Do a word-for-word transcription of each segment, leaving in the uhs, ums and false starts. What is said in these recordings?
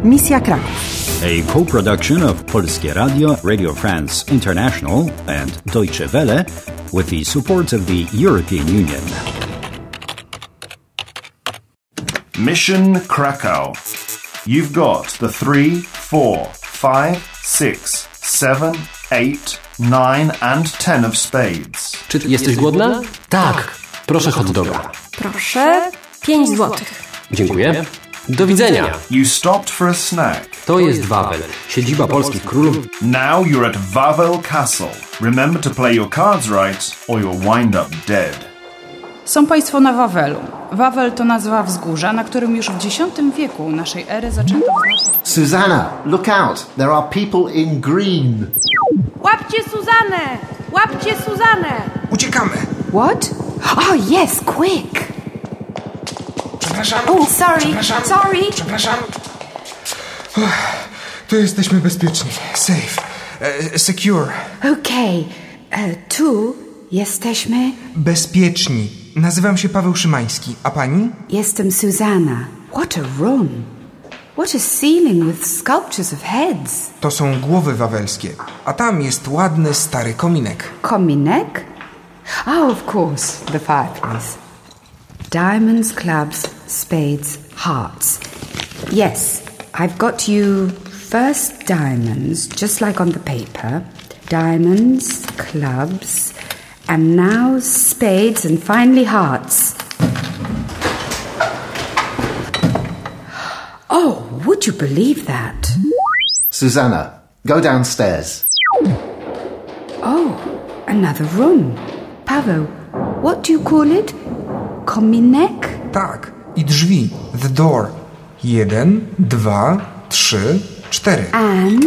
Misja Kraków. A co-production of Polskie Radio, Radio France International and Deutsche Welle with the support of the European Union. Mission Krakow. You've got the three, four, five, six, seven, eight, nine and ten of spades. Czy jesteś głodna? Tak. Proszę hot doga. Proszę. Pięć złotych. Dziękuję. Do widzenia. You stopped for a snack. To jest Wawel, siedziba polskich królów. Now you're at Wawel Castle. Remember to play your cards right or you'll wind up dead. Są państwo na Wawelu. Wawel to nazwa wzgórza, na którym już w dziesiątym wieku naszej ery zaczęto wznosić... Susanna, look out! There are people in green. Łapcie Suzanę! Łapcie Suzanę! Uciekamy! What? Oh, yes, quick! Przepraszam. Oh, sorry, Przepraszam. sorry. Przepraszam. Uff, tu jesteśmy bezpieczni. Safe. E, secure. Okej. Okay. Tu jesteśmy... Bezpieczni. Nazywam się Paweł Szymański. A pani? Jestem Susanna. What a room. What a ceiling with sculptures of heads. To są głowy wawelskie. A tam jest ładny, stary kominek. Kominek? Oh, of course. The fireplace. Diamonds, clubs, spades, hearts. Yes, I've got you first diamonds, just like on the paper. Diamonds, clubs, and now spades, and finally hearts. Oh, would you believe that? Susanna, go downstairs. Oh, another room. Paweł, what do you call it? Kominek? Tak. I drzwi. The door. Jeden, dwa, trzy, cztery. And?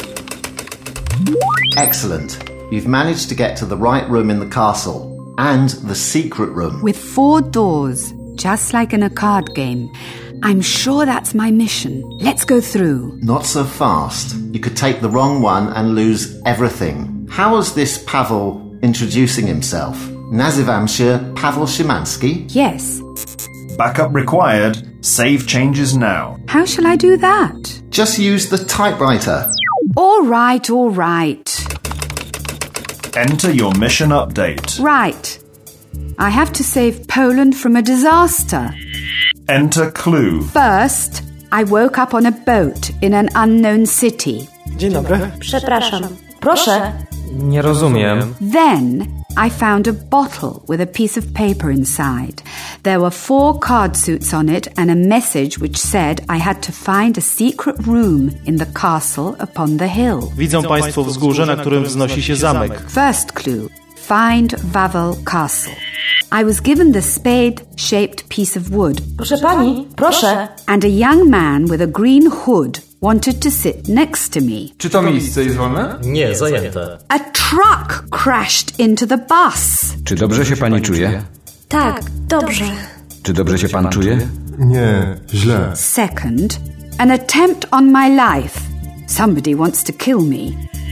Excellent. You've managed to get to the right room in the castle and the secret room. With four doors, just like in a card game. I'm sure that's my mission. Let's go through. Not so fast. You could take the wrong one and lose everything. How was this Paweł introducing himself? Nazywam się Paweł Szymański. Yes. Backup required. Save changes now. How shall I do that? Just use the typewriter. All right, all right. Enter your mission update. Right. I have to save Poland from a disaster. Enter clue. First, I woke up on a boat in an unknown city. Dzień dobry. Przepraszam. Proszę. Nie rozumiem. Then I found a bottle with a piece of paper inside. There were four card suits on it and a message which said I had to find a secret room in the castle upon the hill. Widzą państwo wzgórze, na którym wznosi się zamek. First clue. Find Wawel Castle. I was given the spade-shaped piece of wood. Proszę pani, proszę. And a young man with a green hood wanted to sit next to me. Czy to miejsce jest wolne? Nie, zajęte. A truck crashed into the bus. Czy dobrze się pani czuje? Tak, dobrze. Czy dobrze się pan czuje? Nie, źle. Second, an attempt on my life. Somebody wants to kill me.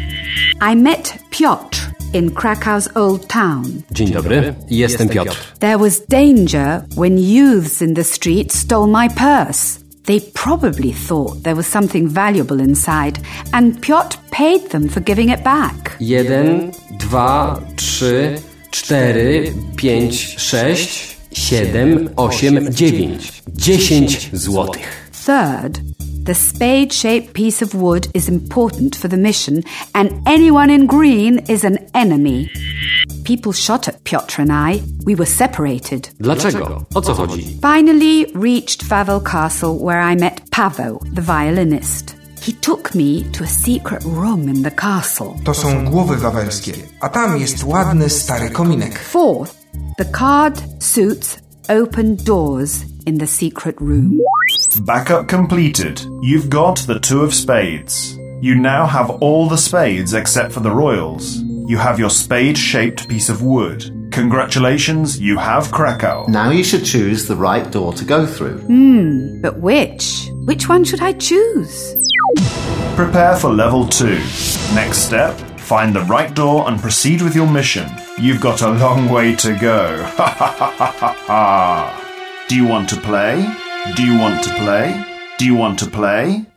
I met Piotr in Krakow's old town. Dzień dobry, jestem Piotr. There was danger when youths in the street stole my purse. They probably thought there was something valuable inside, and Piotr paid them for giving it back. Jeden, dwa, trzy, cztery, pięć, sześć, siedem, osiem, dziewięć. Dziesięć złotych. Third, the spade-shaped piece of wood is important for the mission, and anyone in green is an enemy. People shot at Piotr and I. We were separated. Dlaczego? O co chodzi? Finally reached Wawel Castle, where I met Paweł, the violinist. He took me to a secret room in the castle. To są głowy wawelskie. A tam jest ładny, stary kominek. Fourth, the card suits open doors in the secret room. Backup completed. You've got the two of spades. You now have all the spades except for the royals. You have your spade-shaped piece of wood. Congratulations, you have Krakow. Now you should choose the right door to go through. Hmm, but which? Which one should I choose? Prepare for level two. Next step, find the right door and proceed with your mission. You've got a long way to go. Ha ha ha ha ha ha. Do you want to play? Do you want to play? Do you want to play?